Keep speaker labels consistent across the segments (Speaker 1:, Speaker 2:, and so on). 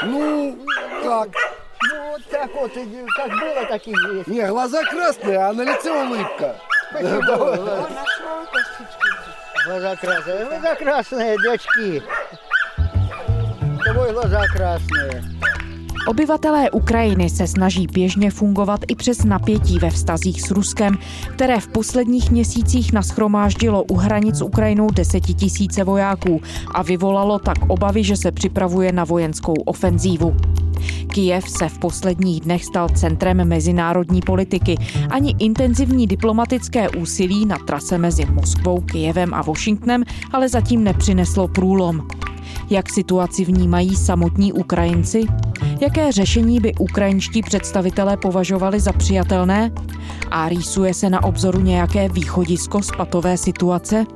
Speaker 1: Ну, как?
Speaker 2: Ну, вот так вот, как было, так и есть.
Speaker 1: Не, глаза красные, а на лице улыбка.
Speaker 2: Глаза красные, дочки. Тобой глаза красные.
Speaker 3: Obyvatelé Ukrajiny se snaží běžně fungovat i přes napětí ve vztazích s Ruskem, které v posledních měsících nashromáždilo u hranic s Ukrajinou 10 000 vojáků a vyvolalo tak obavy, že se připravuje na vojenskou ofenzívu. Kyjev se v posledních dnech stal centrem mezinárodní politiky. Ani intenzivní diplomatické úsilí na trase mezi Moskvou, Kyjevem a Washingtonem ale zatím nepřineslo průlom. Jak situaci vnímají samotní Ukrajinci? Jaké řešení by ukrajinští představitelé považovali za přijatelné? A rýsuje se na obzoru nějaké východisko z patové situace?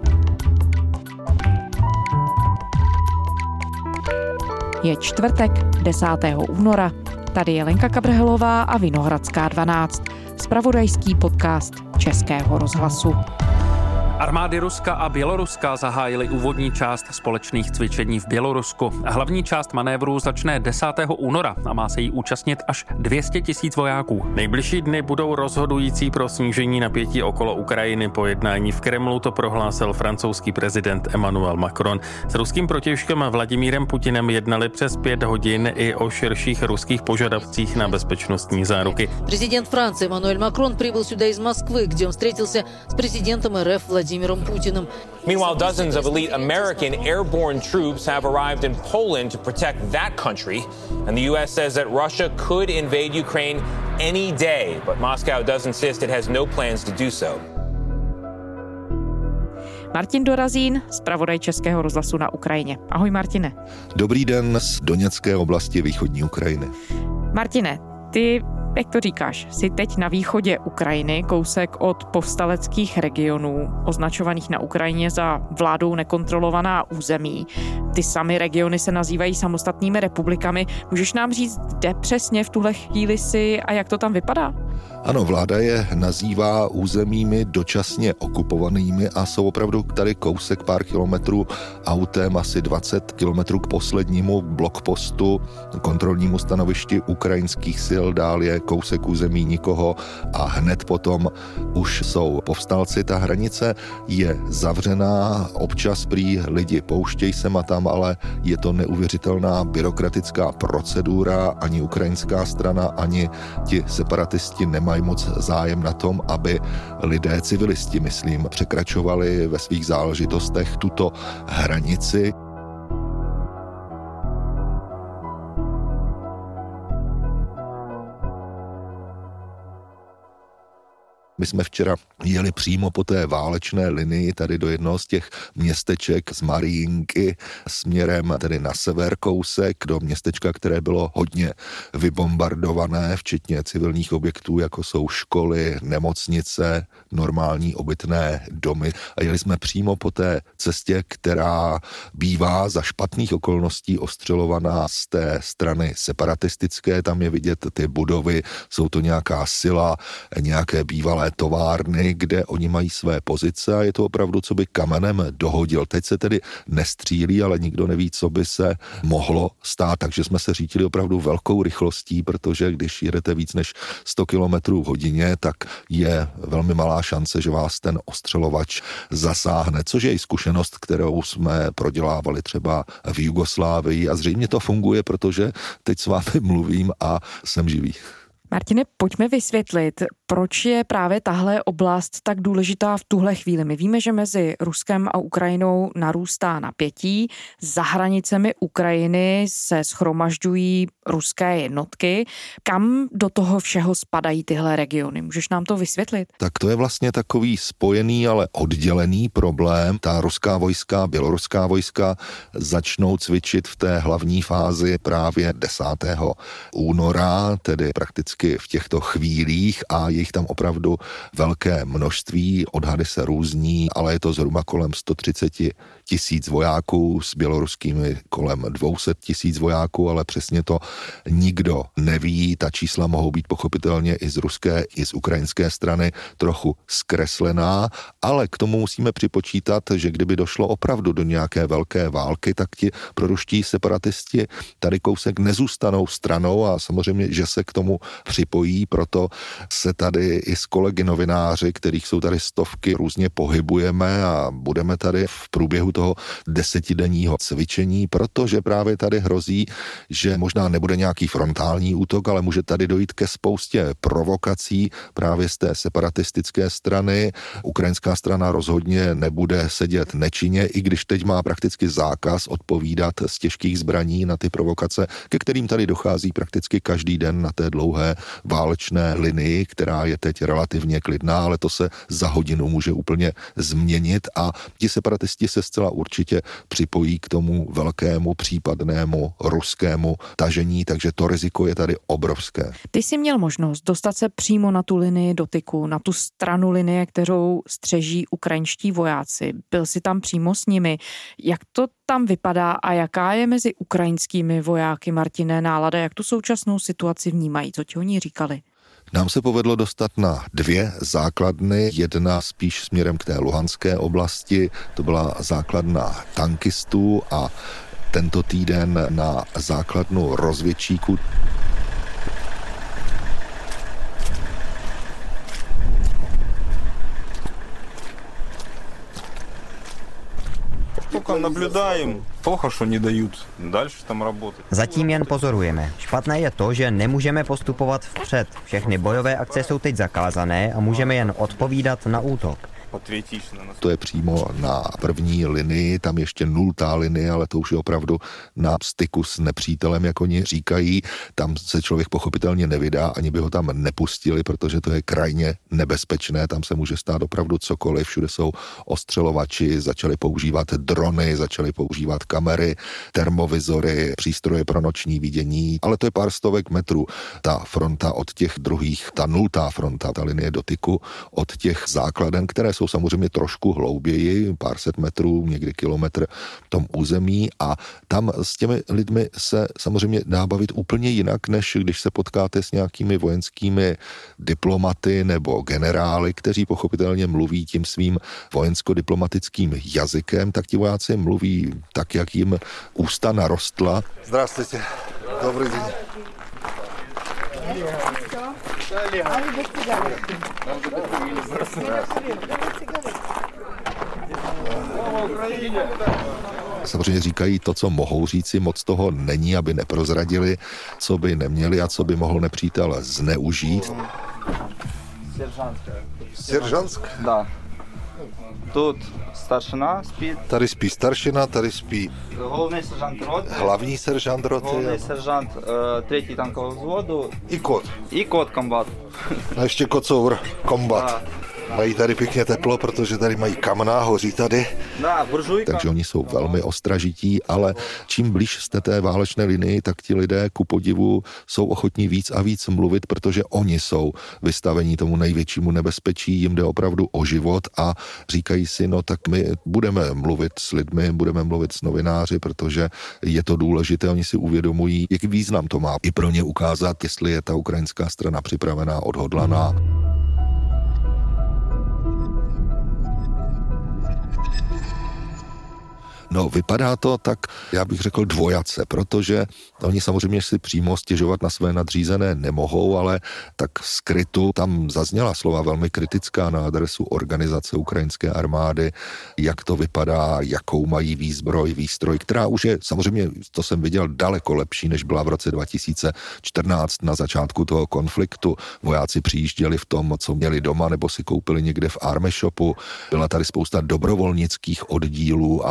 Speaker 3: Je čtvrtek, 10. února. Tady je Lenka Kabrhelová a Vinohradská 12. Zpravodajský podcast Českého rozhlasu.
Speaker 4: Armády Ruska a Běloruska zahájily úvodní část společných cvičení v Bělorusku. Hlavní část manévrů začne 10. února a má se jí účastnit až 200 000 vojáků. Nejbližší dny budou rozhodující pro snížení napětí okolo Ukrajiny. Po jednání v Kremlu to prohlásil francouzský prezident Emmanuel Macron. S ruským protějškem Vladimírem Putinem jednali přes 5 hodin i o širších ruských požadavcích na bezpečnostní záruky.
Speaker 5: Prezident Francie Emmanuel Macron přibyl сюда из Москвы, kde on vstřetil s prezidentem RF Vladimírem Putinem.
Speaker 6: Meanwhile, dozens of elite American airborne troops have arrived in Poland to protect that country. And the U.S. says that Russia could invade Ukraine any day, but Moscow does insist it has no plans to do so.
Speaker 3: Martin Dorazín, zpravodaj Českého rozhlasu na Ukrajině. Ahoj Martine.
Speaker 7: Dobrý den z Doněcké oblasti východní Ukrajiny.
Speaker 3: Martine, ty, jak to říkáš, jsi teď na východě Ukrajiny, kousek od povstaleckých regionů, označovaných na Ukrajině za vládou nekontrolovaná území. Ty samy regiony se nazývají samostatnými republikami. Můžeš nám říct, kde přesně v tuhle chvíli jsi a jak to tam vypadá?
Speaker 7: Ano, vláda je nazývá územími dočasně okupovanými a jsou opravdu tady kousek pár kilometrů autem, asi 20 kilometrů k poslednímu blokpostu, kontrolnímu stanovišti ukrajinských sil, dál je kousek území nikoho a hned potom už jsou povstalci. Ta hranice je zavřená, občas prý lidi pouštějí sem a tam, ale je to neuvěřitelná byrokratická procedura, ani ukrajinská strana, ani ti separatisti nemají moc zájem na tom, aby lidé, civilisti, myslím, překračovali ve svých záležitostech tuto hranici. My jsme včera jeli přímo po té válečné linii tady do jednoho z těch městeček z Mariinky směrem tedy na sever kousek do městečka, které bylo hodně vybombardované, včetně civilních objektů, jako jsou školy, nemocnice, normální obytné domy. A jeli jsme přímo po té cestě, která bývá za špatných okolností ostřelovaná z té strany separatistické. Tam je vidět ty budovy, jsou to nějaká sila, nějaké bývalé továrny, kde oni mají své pozice a je to opravdu, co by kamenem dohodil. Teď se tedy nestřílí, ale nikdo neví, co by se mohlo stát, takže jsme se řítili opravdu velkou rychlostí, protože když jedete víc než 100 km v hodině, tak je velmi malá šance, že vás ten ostřelovač zasáhne, což je i zkušenost, kterou jsme prodělávali třeba v Jugoslávii a zřejmě to funguje, protože teď s vámi mluvím a jsem živý.
Speaker 3: Martine, pojďme vysvětlit, proč je právě tahle oblast tak důležitá v tuhle chvíli. My víme, že mezi Ruskem a Ukrajinou narůstá napětí. Za hranicemi Ukrajiny se shromažďují ruské jednotky. Kam do toho všeho spadají tyhle regiony? Můžeš nám to vysvětlit?
Speaker 7: Tak to je vlastně takový spojený, ale oddělený problém. Ta ruská vojska, běloruská vojska začnou cvičit v té hlavní fázi právě 10. února, tedy prakticky v těchto chvílích a jich tam opravdu velké množství, odhady se různí, ale je to zhruba kolem 130 000 vojáků, s běloruskými kolem 200 000 vojáků, ale přesně to nikdo neví. Ta čísla mohou být pochopitelně i z ruské, i z ukrajinské strany trochu zkreslená, ale k tomu musíme připočítat, že kdyby došlo opravdu do nějaké velké války, tak ti proruští separatisti tady kousek nezůstanou stranou a samozřejmě, že se k tomu připojí, proto se tady i s kolegy novináři, kterých jsou tady stovky, různě pohybujeme a budeme tady v průběhu toho 10denního cvičení, protože právě tady hrozí, že možná nebude nějaký frontální útok, ale může tady dojít ke spoustě provokací právě z té separatistické strany. Ukrajinská strana rozhodně nebude sedět nečinně, i když teď má prakticky zákaz odpovídat z těžkých zbraní na ty provokace, ke kterým tady dochází prakticky každý den na té dlouhé válečné linii, která je teď relativně klidná, ale to se za hodinu může úplně změnit a ti separatisti se zcela určitě připojí k tomu velkému případnému ruskému tažení, takže to riziko je tady obrovské.
Speaker 3: Ty jsi měl možnost dostat se přímo na tu linii dotyku, na tu stranu linie, kterou střeží ukrajinští vojáci. Byl jsi tam přímo s nimi. Jak to tam vypadá a jaká je mezi ukrajinskými vojáky, Martine, nálada? Jak tu současnou situaci vnímají? Co ti oni říkali?
Speaker 7: Nám se povedlo dostat na 2 základny, jedna spíš směrem k té luhanské oblasti, to byla základna tankistů a tento týden na základnu rozvědčíků.
Speaker 8: Zatím jen pozorujeme. Špatné je to, že nemůžeme postupovat vpřed. Všechny bojové akce jsou teď zakázané a můžeme jen odpovídat na útok.
Speaker 7: To je přímo na první linii, tam ještě 0. linie, ale to už je opravdu na styku s nepřítelem, jak oni říkají. Tam se člověk pochopitelně nevydá, ani by ho tam nepustili, protože to je krajně nebezpečné, tam se může stát opravdu cokoliv, všude jsou ostřelovači, začali používat drony, začali používat kamery, termovizory, přístroje pro noční vidění, ale to je pár stovek metrů. Ta fronta od těch druhých, ta 0. fronta, ta linie dotyku od těch základen, které jsou samozřejmě trošku hlouběji, pár set metrů, někdy kilometr v tom území a tam s těmi lidmi se samozřejmě dá bavit úplně jinak, než když se potkáte s nějakými vojenskými diplomaty nebo generály, kteří pochopitelně mluví tím svým vojensko-diplomatickým jazykem, tak ti vojáci mluví tak, jak jim ústa narostla.
Speaker 1: Здравствуйте. Добрый день.
Speaker 7: Samozřejmě říkají to, co mohou říci, moc toho není, aby neprozradili, co by neměli a co by mohl nepřítel zneužít.
Speaker 1: Seržantsk?
Speaker 9: Да. Тут старшина спит.
Speaker 1: Tady spí staršina, tady spí
Speaker 9: Головний сержант роти.
Speaker 1: hlavní seržant roty
Speaker 9: Головний сержант 3. танкового взводу.
Speaker 1: i kot.
Speaker 9: І кот комбат.
Speaker 1: A ještě kocour, kombat. Mají tady pěkně teplo, protože tady mají kamna, hoří tady.
Speaker 9: Да, буржуйка.
Speaker 7: Takže oni jsou velmi ostražití, ale čím blíž jste té válečné linii, tak ti lidé ku podivu jsou ochotní víc a víc mluvit, protože oni jsou vystavení tomu největšímu nebezpečí, jim jde opravdu o život a říkají si, no tak my budeme mluvit s lidmi, budeme mluvit s novináři, protože je to důležité, oni si uvědomují, jaký význam to má i pro ně ukázat, jestli je ta ukrajinská strana připravená, odhodlaná. No, vypadá to tak, já bych řekl dvojace, protože oni samozřejmě si přímo stěžovat na své nadřízené nemohou, ale tak skrytu tam zazněla slova velmi kritická na adresu organizace ukrajinské armády, jak to vypadá, jakou mají výzbroj, výstroj, která už je samozřejmě, to jsem viděl, daleko lepší, než byla v roce 2014 na začátku toho konfliktu. Vojáci přijížděli v tom, co měli doma, nebo si koupili někde v Army Shopu. Byla tady spousta dobrovolnických oddílů a podobně.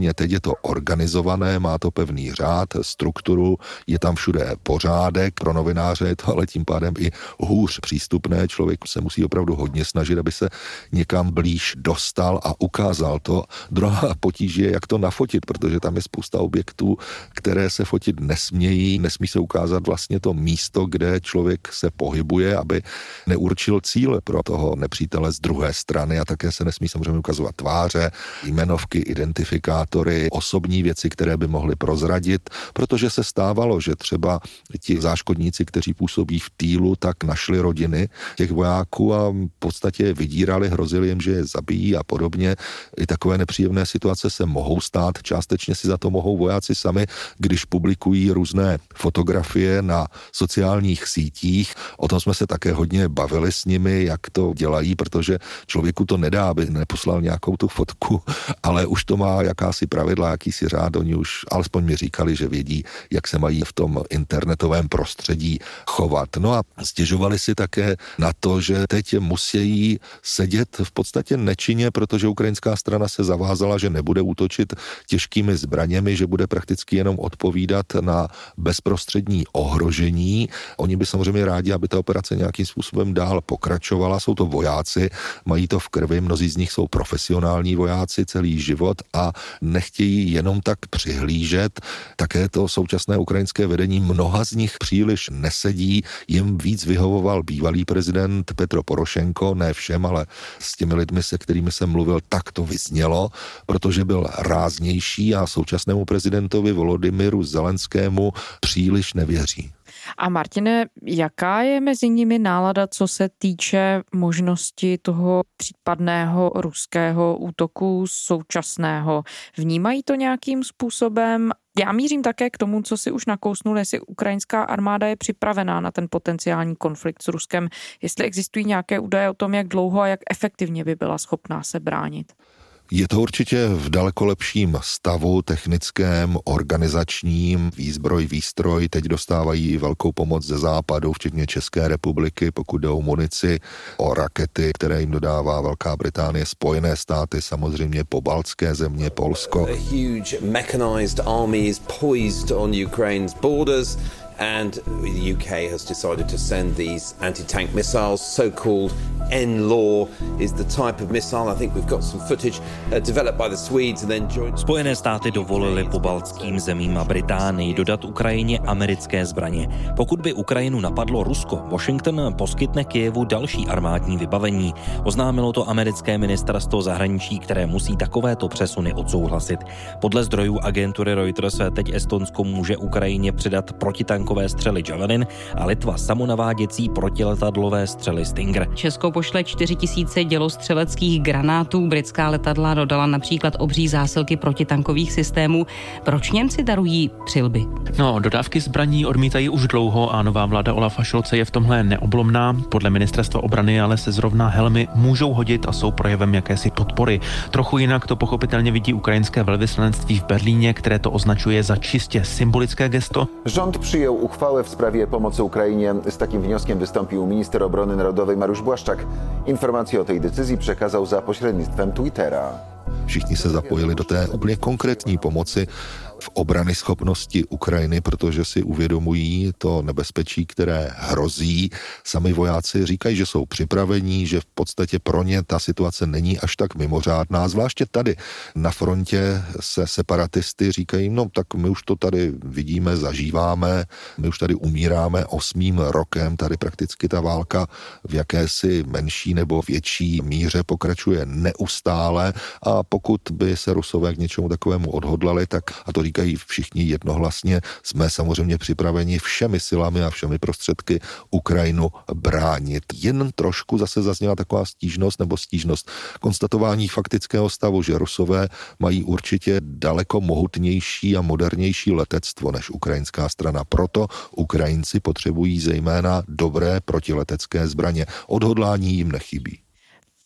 Speaker 7: Nicméně teď je to organizované, má to pevný řád, strukturu, je tam všude pořádek, pro novináře je to ale tím pádem i hůř přístupné, člověk se musí opravdu hodně snažit, aby se někam blíž dostal a ukázal to. Druhá potíž je, jak to nafotit, protože tam je spousta objektů, které se fotit nesmějí, nesmí se ukázat vlastně to místo, kde člověk se pohybuje, aby neurčil cíle pro toho nepřítele z druhé strany a také se nesmí samozřejmě ukazovat tváře, jmenovky, identifikátory, osobní věci, které by mohly prozradit, protože se stávalo, že třeba ti záškodníci, kteří působí v týlu, tak našli rodiny těch vojáků a v podstatě vydírali, hrozili jim, že je zabijí a podobně. I takové nepříjemné situace se mohou stát, částečně si za to mohou vojáci sami, když publikují různé fotografie na sociálních sítích. O tom jsme se také hodně bavili s nimi, jak to dělají, protože člověku to nedá, aby neposlal nějakou tu fotku, ale už to má jakási pravidla, jakýsi řád, oni už alespoň mi říkali, že vědí, jak se mají v tom internetovém prostředí chovat. No a stěžovali si také na to, že teď musí sedět v podstatě nečinně, protože ukrajinská strana se zavázala, že nebude útočit těžkými zbraněmi, že bude prakticky jenom odpovídat na bezprostřední ohrožení. Oni by samozřejmě rádi, aby ta operace nějakým způsobem dál pokračovala. Jsou to vojáci, mají to v krvi, mnozí z nich jsou profesionální vojáci celý život a nechtějí jenom tak přihlížet. Také to současné ukrajinské vedení mnoha z nich příliš nesedí. Jim víc vyhovoval bývalý prezident Petro Porošenko, ne všem, ale s těmi lidmi, se kterými jsem mluvil, tak to vyznělo, protože byl ráznější a současnému prezidentovi Volodymyru Zelenskému příliš nevěří.
Speaker 3: A Martine, jaká je mezi nimi nálada, co se týče možnosti toho případného ruského útoku současného? Vnímají to nějakým způsobem? Já mířím také k tomu, co si už nakousnul, jestli ukrajinská armáda je připravená na ten potenciální konflikt s Ruskem, jestli existují nějaké údaje o tom, jak dlouho a jak efektivně by byla schopná se bránit.
Speaker 7: Je to určitě v daleko lepším stavu technickém, organizačním, výzbroj, výstroj. Teď dostávají velkou pomoc ze západu, včetně České republiky, pokud jde o munici, o rakety, které jim dodává Velká Británie, Spojené státy, samozřejmě pobaltské země, Polsko.
Speaker 10: A huge mechanized army is poised on Ukraine's borders. And the UK has decided to send these anti-tank missiles. So-called NLAW is the type of missile. I think we've got some footage developed by the Swedes and then joined.
Speaker 11: Spojené státy dovolily pobaltským zemím a Británii dodat Ukrajině americké zbraně. Pokud by Ukrajinu napadlo Rusko, Washington poskytne Kyjevu další armádní vybavení. Oznámilo to americké ministerstvo zahraničí, které musí takovéto přesuny odsouhlasit. Podle zdrojů agentury Reuters teď Estonsko může Ukrajině předat protitankové střely Javelin a Litva samonaváděcí protiletadlové střely Stinger.
Speaker 12: Česko pošle 4 000 dělostřeleckých granátů, britská letadla dodala například obří zásilky protitankových systémů. Proč Němci darují přilby?
Speaker 4: Dodávky zbraní odmítají už dlouho a nová vláda Olafa Scholze je v tomhle neoblomná. Podle ministerstva obrany ale se zrovna helmy můžou hodit a jsou projevem jakési podpory. Trochu jinak to pochopitelně vidí ukrajinské velvyslanectví v Berlíně, které to označuje za čistě symbolické gesto.
Speaker 13: Rząd przyjął uchwałę w sprawie pomocy Ukrainie. Z takim wnioskiem wystąpił minister obrony narodowej Mariusz Błaszczak. Informację o tej decyzji przekazał za pośrednictwem Twittera.
Speaker 7: Všichni se zapojili do té úplně konkrétní pomoci v obrany schopnosti Ukrajiny, protože si uvědomují to nebezpečí, které hrozí. Sami vojáci říkají, že jsou připravení, že v podstatě pro ně ta situace není až tak mimořádná. Zvláště tady na frontě se separatisty říkají, tak my už to tady vidíme, zažíváme, my už tady umíráme 8. rokem, tady prakticky ta válka v jakési menší nebo větší míře pokračuje neustále a pokud by se Rusové k něčemu takovému odhodlali, tak, a to říkají všichni jednohlasně, jsme samozřejmě připraveni všemi silami a všemi prostředky Ukrajinu bránit. Jen trošku zase zazněla taková stížnost konstatování faktického stavu, že Rusové mají určitě daleko mohutnější a modernější letectvo než ukrajinská strana. Proto Ukrajinci potřebují zejména dobré protiletecké zbraně. Odhodlání jim nechybí.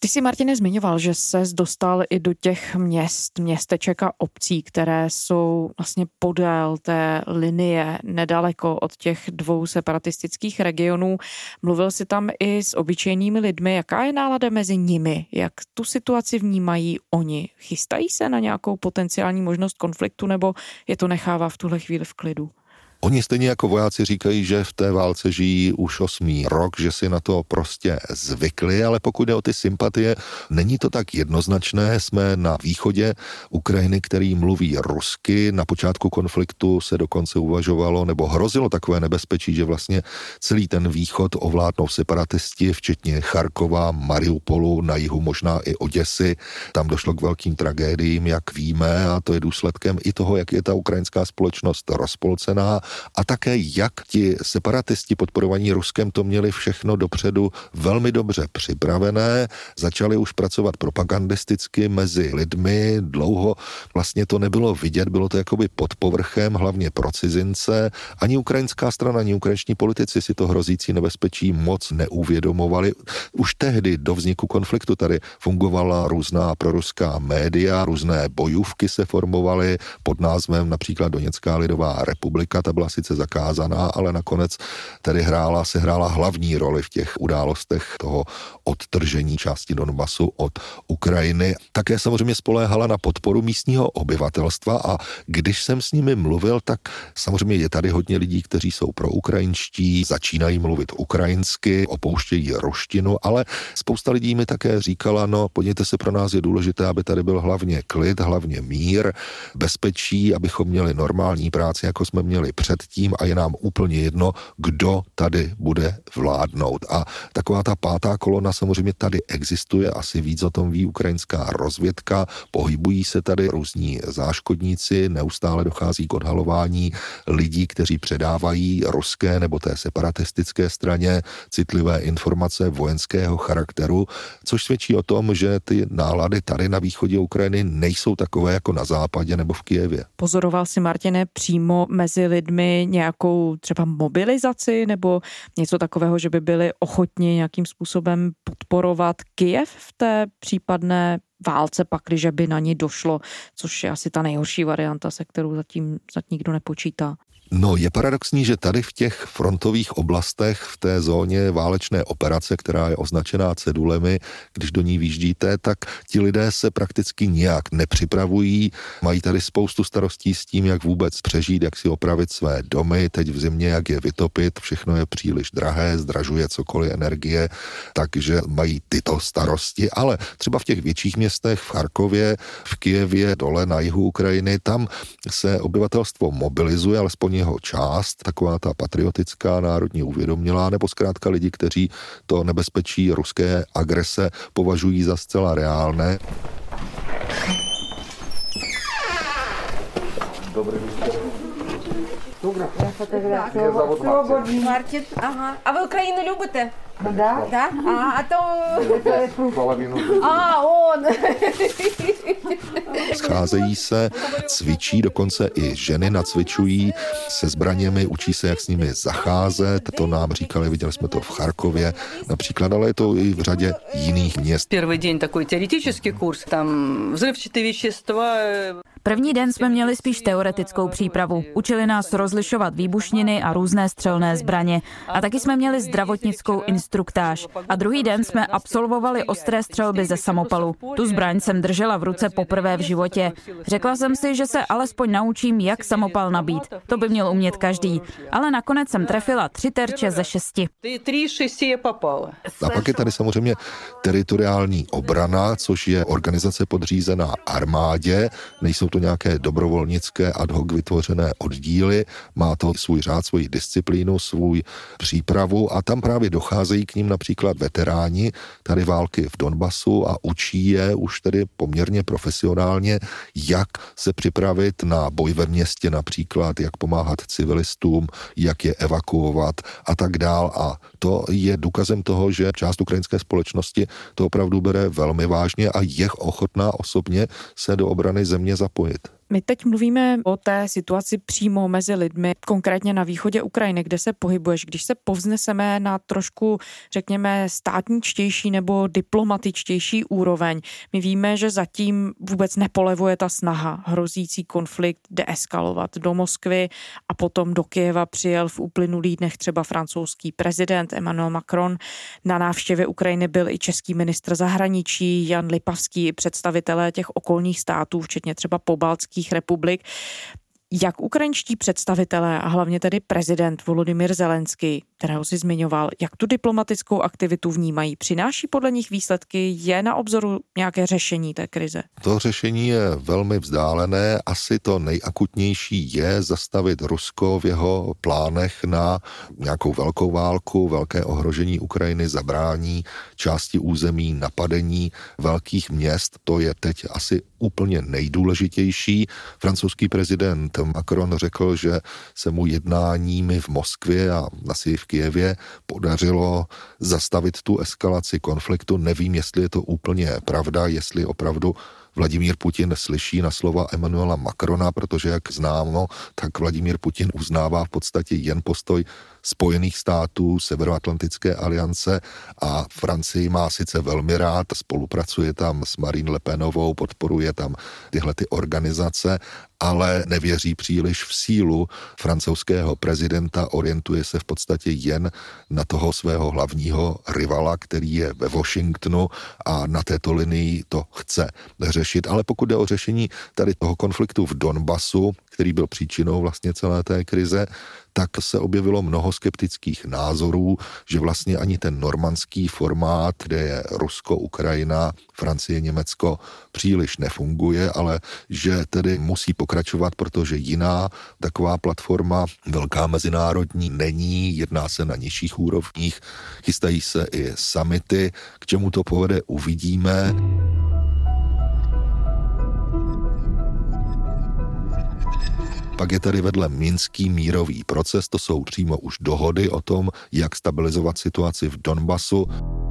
Speaker 3: Ty jsi, Martine, zmiňoval, že ses dostal i do těch městeček a obcí, které jsou vlastně podél té linie nedaleko od těch dvou separatistických regionů. Mluvil jsi tam i s obyčejnými lidmi. Jaká je nálada mezi nimi? Jak tu situaci vnímají oni? Chystají se na nějakou potenciální možnost konfliktu nebo je to nechává v tuhle chvíli v klidu?
Speaker 7: Oni stejně jako vojáci říkají, že v té válce žijí už 8. rok, že si na to prostě zvykli, ale pokud jde o ty sympatie, není to tak jednoznačné. Jsme na východě Ukrajiny, který mluví rusky. Na počátku konfliktu se dokonce uvažovalo nebo hrozilo takové nebezpečí, že vlastně celý ten východ ovládnou separatisti, včetně Charkova, Mariupolu, na jihu možná i Oděsy. Tam došlo k velkým tragédiím, jak víme, a to je důsledkem i toho, jak je ta ukrajinská společnost rozpolcená. A také, jak ti separatisti podporovaní Ruskem to měli všechno dopředu velmi dobře připravené, začali už pracovat propagandisticky mezi lidmi, dlouho vlastně to nebylo vidět, bylo to jakoby pod povrchem, hlavně pro cizince. Ani ukrajinská strana, ani ukrajinští politici si to hrozící nebezpečí moc neuvědomovali. Už tehdy do vzniku konfliktu tady fungovala různá proruská média, různé bojůvky se formovaly pod názvem například Doněcká lidová republika, ta byla sice zakázaná, ale nakonec tedy sehrála hlavní roli v těch událostech toho odtržení části Donbasu od Ukrajiny. Také samozřejmě spoléhala na podporu místního obyvatelstva a když jsem s nimi mluvil, tak samozřejmě je tady hodně lidí, kteří jsou proukrajinští, začínají mluvit ukrajinsky, opouštějí ruštinu, ale spousta lidí mi také říkala, no podívejte se, pro nás je důležité, aby tady byl hlavně klid, hlavně mír, bezpečí, abychom měli normální práci, jako jsme měli předtím a je nám úplně jedno, kdo tady bude vládnout. A taková ta pátá kolona samozřejmě tady existuje, asi víc o tom ví ukrajinská rozvědka, pohybují se tady různí záškodníci, neustále dochází k odhalování lidí, kteří předávají ruské nebo té separatistické straně citlivé informace vojenského charakteru, což svědčí o tom, že ty nálady tady na východě Ukrajiny nejsou takové jako na západě nebo v Kyjevě.
Speaker 3: Pozoroval si, Martine, přímo mezi lidmi nějakou třeba mobilizaci nebo něco takového, že by byli ochotni nějakým způsobem podporovat Kyjev v té případné válce, pakliže by na ní došlo, což je asi ta nejhorší varianta, se kterou zatím nikdo nepočítá.
Speaker 7: No, je paradoxní, že tady v těch frontových oblastech, v té zóně válečné operace, která je označená cedulemi, když do ní výjíždíte, tak ti lidé se prakticky nijak nepřipravují, mají tady spoustu starostí s tím, jak vůbec přežít, jak si opravit své domy, teď v zimě, jak je vytopit, všechno je příliš drahé, zdražuje cokoliv energie, takže mají tyto starosti, ale třeba v těch větších městech, v Charkově, v Kyjevě, dole na jihu Ukrajiny, tam se obyvatelstvo mobilizuje, alespoň jeho část, taková ta patriotická, národně uvědomělá, nebo zkrátka lidi, kteří to nebezpečí ruské agrese považují za zcela reálné.
Speaker 13: Dobrý
Speaker 14: Добре. Мартін. Ага. А ви Україну любите? Да. Да? А то...
Speaker 13: Половину.
Speaker 14: Он.
Speaker 7: Scházejí se, cvičí, dokonce i ženy nacvičují se zbraněmi, učí se, jak s nimi zacházet. To nám říkali, viděli jsme to v Charkově například, ale je to i v řadě jiných měst.
Speaker 15: První den takový teoretický kurz, tam vzrывчатые вещества.
Speaker 16: První den jsme měli spíš teoretickou přípravu. Učili nás rozlišovat výbušniny a různé střelné zbraně. A taky jsme měli zdravotnickou instruktáž. A druhý den jsme absolvovali ostré střelby ze samopalu. Tu zbraň jsem držela v ruce poprvé v životě. Řekla jsem si, že se alespoň naučím, jak samopal nabít. To by měl umět každý. Ale nakonec jsem trefila 3 terče ze 6.
Speaker 7: A pak je tady samozřejmě teritoriální obrana, což je organizace podřízená armádě. Nejsou to nějaké dobrovolnické ad hoc vytvořené oddíly, má to svůj řád, svoji disciplínu, svůj přípravu a tam právě docházejí k ním například veteráni tady války v Donbasu a učí je už tedy poměrně profesionálně, jak se připravit na boj ve městě například, jak pomáhat civilistům, jak je evakuovat a tak dál. A to je důkazem toho, že část ukrajinské společnosti to opravdu bere velmi vážně a je ochotná osobně se do obrany země zapojit.
Speaker 3: My teď mluvíme o té situaci přímo mezi lidmi, konkrétně na východě Ukrajiny, kde se pohybuješ. Když se povzneseme na trošku, řekněme, státničtější nebo diplomatičtější úroveň, my víme, že zatím vůbec nepolevuje ta snaha hrozící konflikt deeskalovat. Do Moskvy a potom do Kyjeva přijel v uplynulých dnech třeba francouzský prezident Emmanuel Macron. Na návštěvě Ukrajiny byl i český ministr zahraničí Jan Lipavský, představitelé těch okolních států, včetně třeba pobaltských republik. Jak ukrajinští představitelé a hlavně tedy prezident Volodymyr Zelenský, kterého si zmiňoval, jak tu diplomatickou aktivitu vnímají? Přináší podle nich výsledky? Je na obzoru nějaké řešení té krize?
Speaker 7: To řešení je velmi vzdálené. Asi to nejakutnější je zastavit Rusko v jeho plánech na nějakou velkou válku, velké ohrožení Ukrajiny, zabrání části území, napadení velkých měst. To je teď asi úplně nejdůležitější. Francouzský prezident Macron řekl, že se mu jednáními v Moskvě a asi v Kyjevě podařilo zastavit tu eskalaci konfliktu. Nevím, jestli je to úplně pravda, jestli opravdu Vladimír Putin slyší na slova Emmanuela Macrona, protože jak známo, tak Vladimír Putin uznává v podstatě jen postoj Spojených států, Severoatlantické aliance a Francii má sice velmi rád, spolupracuje tam s Marine Le Penovou, podporuje tam tyhle ty organizace, ale nevěří příliš v sílu francouzského prezidenta, orientuje se v podstatě jen na toho svého hlavního rivala, který je ve Washingtonu a na této linii to chce řešit. Ale pokud jde o řešení tady toho konfliktu v Donbasu, který byl příčinou vlastně celé té krize, tak se objevilo mnoho skeptických názorů, že vlastně ani ten normandský formát, kde je Rusko, Ukrajina, Francie, Německo, příliš nefunguje, ale že tedy musí pokračovat, protože jiná taková platforma velká mezinárodní není, jedná se na nižších úrovních, chystají se i summity, k čemu to povede, uvidíme. Pak je tady vedle minský mírový proces, to jsou přímo už dohody o tom, jak stabilizovat situaci v Donbasu.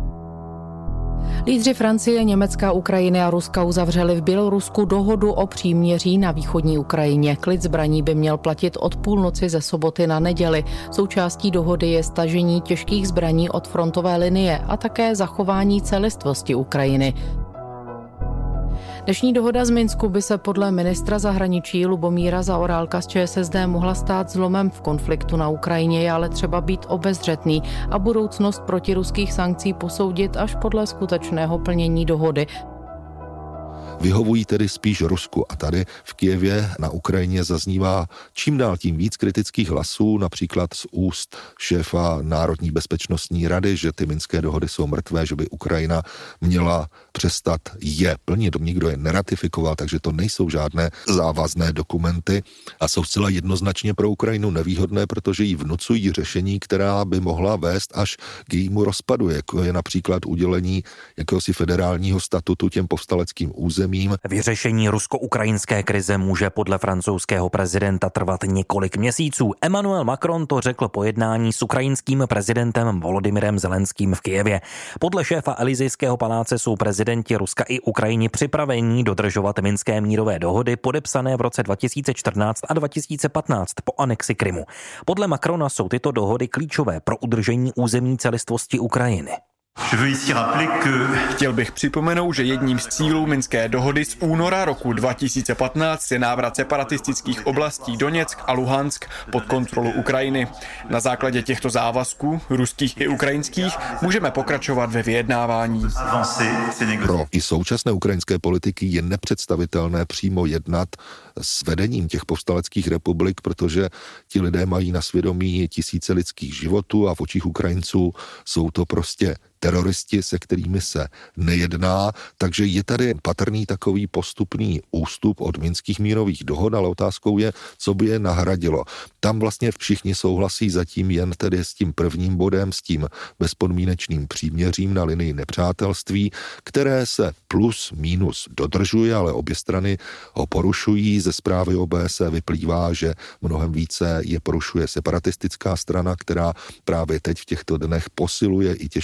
Speaker 17: Lídři Francie, Německa, Ukrajiny a Ruska uzavřeli v Bělorusku dohodu o příměří na východní Ukrajině. Klid zbraní by měl platit od půlnoci ze soboty na neděli. Součástí dohody je stažení těžkých zbraní od frontové linie a také zachování celistvosti Ukrajiny. Dnešní dohoda z Minsku by se podle ministra zahraničí Lubomíra Zaorálka z ČSSD mohla stát zlomem v konfliktu na Ukrajině, je ale třeba být obezřetný a budoucnost protiruských sankcí posoudit až podle skutečného plnění dohody.
Speaker 7: Vyhovují tedy spíš Rusku a tady v Kyjevě na Ukrajině zaznívá čím dál tím víc kritických hlasů, například z úst šéfa Národní bezpečnostní rady, že ty minské dohody jsou mrtvé, že by Ukrajina měla přestat je plnit. Nikdo je neratifikoval, takže to nejsou žádné závazné dokumenty a jsou zcela jednoznačně pro Ukrajinu nevýhodné, protože jí vnucují řešení, která by mohla vést až k jejímu rozpadu, jako je například udělení jakéhosi federálního statutu těm povstaleckým územím.
Speaker 11: Vyřešení rusko-ukrajinské krize může podle francouzského prezidenta trvat několik měsíců. Emmanuel Macron to řekl po jednání s ukrajinským prezidentem Volodymyrem Zelenským v Kyjevě. Podle šéfa Elysejského paláce jsou prezidenti Ruska i Ukrajiny připraveni dodržovat minské mírové dohody podepsané v roce 2014 a 2015 po anexi Krymu. Podle Macrona jsou tyto dohody klíčové pro udržení územní celistvosti Ukrajiny.
Speaker 18: Chtěl bych připomenout, že jedním z cílů minské dohody z února roku 2015 je návrat separatistických oblastí Doněck a Luhansk pod kontrolu Ukrajiny. Na základě těchto závazků, ruských i ukrajinských, můžeme pokračovat ve vyjednávání.
Speaker 7: Pro i současné ukrajinské politiky je nepředstavitelné přímo jednat s vedením těch povstaleckých republik, protože ti lidé mají na svědomí tisíce lidských životů a v očích Ukrajinců jsou to prostě teroristi, se kterými se nejedná, takže je tady patrný takový postupný ústup od minských mírových dohod, ale otázkou je, co by je nahradilo. Tam vlastně všichni souhlasí zatím jen tedy s tím prvním bodem, s tím bezpodmínečným příměřím na linii nepřátelství, které se plus minus dodržuje, ale obě strany ho porušují. Ze zprávy OBSE vyplývá, že mnohem více je porušuje separatistická strana, která právě teď v těchto dnech posiluje i těžké zbraně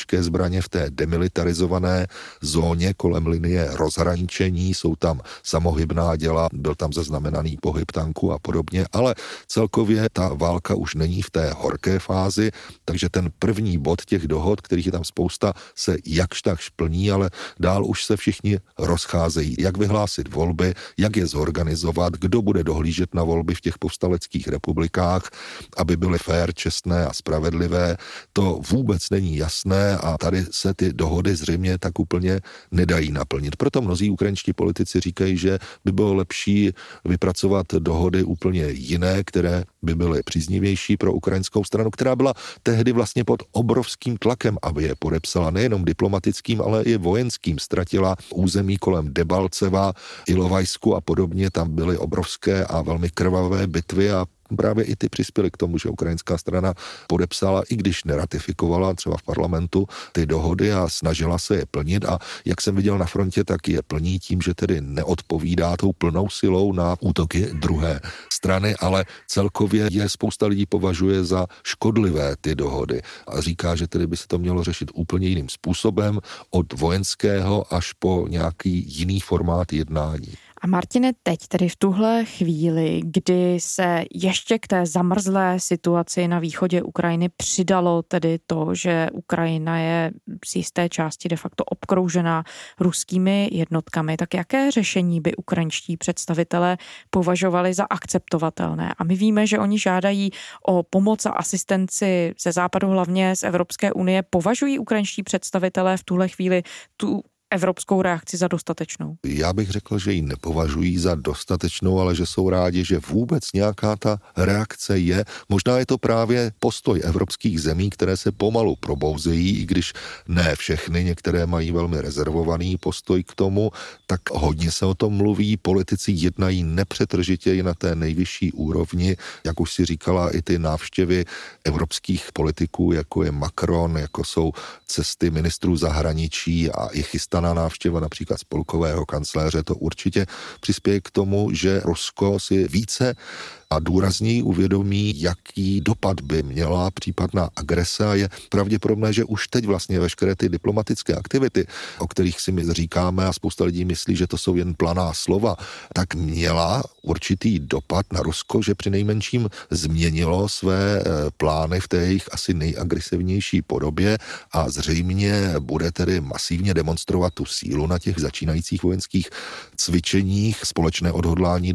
Speaker 7: straně v té demilitarizované zóně kolem linie rozhraničení, jsou tam samohybná děla, byl tam zaznamenaný pohyb tanků a podobně, ale celkově ta válka už není v té horké fázi, takže ten první bod těch dohod, kterých je tam spousta, se jakž takž plní, ale dál už se všichni rozcházejí. Jak vyhlásit volby, jak je zorganizovat, kdo bude dohlížet na volby v těch povstaleckých republikách, aby byly fair, čestné a spravedlivé, to vůbec není jasné a tady se ty dohody zřejmě tak úplně nedají naplnit. Proto mnozí ukrajinští politici říkají, že by bylo lepší vypracovat dohody úplně jiné, které by byly příznivější pro ukrajinskou stranu, která byla tehdy vlastně pod obrovským tlakem, aby je podepsala nejenom diplomatickým, ale i vojenským. Ztratila území kolem Debalceva, Ilovajsku a podobně, tam byly obrovské a velmi krvavé bitvy a právě i ty přispěly k tomu, že ukrajinská strana podepsala, i když neratifikovala třeba v parlamentu ty dohody a snažila se je plnit a jak jsem viděl na frontě, tak je plní tím, že tedy neodpovídá tou plnou silou na útoky druhé strany, ale celkově je spousta lidí považuje za škodlivé ty dohody a říká, že tedy by se to mělo řešit úplně jiným způsobem, od vojenského až po nějaký jiný formát jednání.
Speaker 3: A Martine, teď tedy v tuhle chvíli, kdy se ještě k té zamrzlé situaci na východě Ukrajiny přidalo tedy to, že Ukrajina je z jisté části de facto obkroužená ruskými jednotkami, tak jaké řešení by ukrajinští představitelé považovali za akceptovatelné? A my víme, že oni žádají o pomoc a asistenci ze západu, hlavně z Evropské unie. Považují ukrajinští představitelé v tuhle chvíli tu evropskou reakci za dostatečnou?
Speaker 7: Já bych řekl, že ji nepovažují za dostatečnou, ale že jsou rádi, že vůbec nějaká ta reakce je. Možná je to právě postoj evropských zemí, které se pomalu probouzejí, i když ne všechny, některé mají velmi rezervovaný postoj k tomu, tak hodně se o tom mluví, politici jednají nepřetržitě i na té nejvyšší úrovni, jak už si říkala, i ty návštěvy evropských politiků, jako je Macron, jako jsou cesty ministrů zahraničí a i chystaná návštěva například spolkového kancléře, to určitě přispěje k tomu, že Rusko si více a důrazněji uvědomí, jaký dopad by měla případná agrese a je pravděpodobné, že už teď vlastně veškeré ty diplomatické aktivity, o kterých si my říkáme a spousta lidí myslí, že to jsou jen planá slova, tak měla určitý dopad na Rusko, že přinejmenším změnilo své plány v té jejich asi nejagresivnější podobě a zřejmě bude tedy masivně demonstrovat tu sílu na těch začínajících vojenských cvičeních, společné odhodlání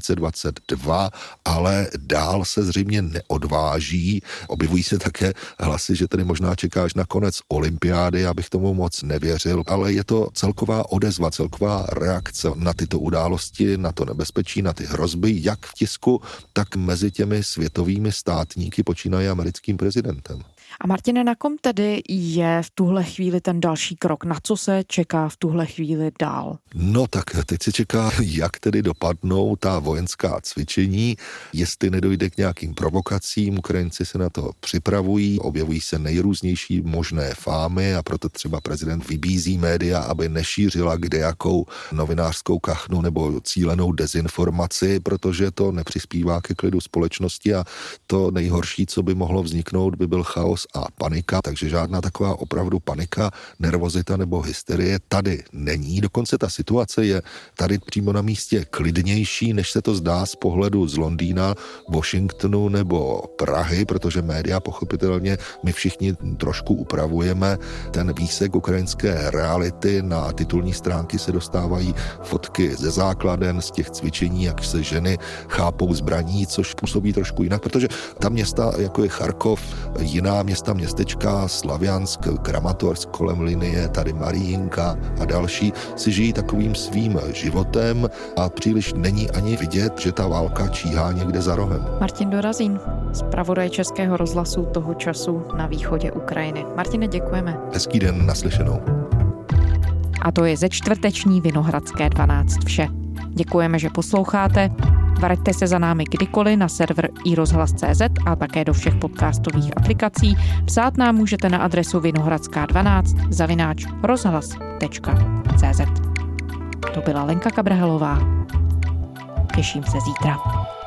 Speaker 7: 2022, ale dál se zřejmě neodváží. Objevují se také hlasy, že tedy možná čekáš na konec olympiády, abych tomu moc nevěřil, ale je to celková odezva, celková reakce na tyto události, na to nebezpečí, na ty hrozby, jak v tisku, tak mezi těmi světovými státníky počínaje americkým prezidentem.
Speaker 3: A Martine, na kom tedy je v tuhle chvíli ten další krok? Na co se čeká v tuhle chvíli dál?
Speaker 7: No tak teď se čeká, jak tedy dopadnou ta vojenská cvičení, jestli nedojde k nějakým provokacím, Ukrajinci se na to připravují, objevují se nejrůznější možné fámy a proto třeba prezident vybízí média, aby nešířila kdejakou novinářskou kachnu nebo cílenou dezinformaci, protože to nepřispívá ke klidu společnosti a to nejhorší, co by mohlo vzniknout, by byl chaos a panika, takže žádná taková opravdu panika, nervozita nebo hysterie tady není. Dokonce ta situace je tady přímo na místě klidnější, než se to zdá z pohledu z Londýna, Washingtonu nebo Prahy, protože média pochopitelně my všichni trošku upravujeme ten výsek ukrajinské reality. Na titulní stránky se dostávají fotky ze základen, z těch cvičení, jak se ženy chápou zbraní, což působí trošku jinak, protože ta města, jako je Charkov, jiná města, městečka, Slaviansk, Kramatorsk kolem linie, tady Marijinka a další, si žijí takovým svým životem a příliš není ani vidět, že ta válka číhá někde za rohem.
Speaker 3: Martin Dorazín, zpravodaj Českého rozhlasu Toho času na východě Ukrajiny. Martine, děkujeme.
Speaker 7: Hezký den, naslyšenou.
Speaker 3: A to je ze čtvrteční Vinohradské 12 vše. Děkujeme, že posloucháte. Vraťte se za námi kdykoliv na server iRozhlas.cz a také do všech podcastových aplikací. Psát nám můžete na adresu vinohradská12@rozhlas.cz. To byla Lenka Kabrhelová. Těším se zítra.